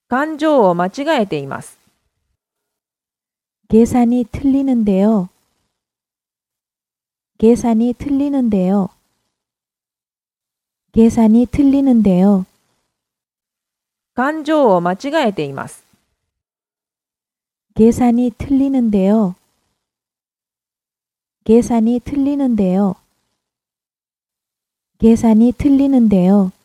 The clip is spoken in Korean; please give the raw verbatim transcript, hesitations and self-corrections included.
勘定を間違えています。 계산이 틀리는데요. 계산이 틀리는데요. 계산이 틀리는데요. 勘定を間違えています。 계산이 틀리는데요. 계산이 틀리는데요. 계산이 틀리는데요.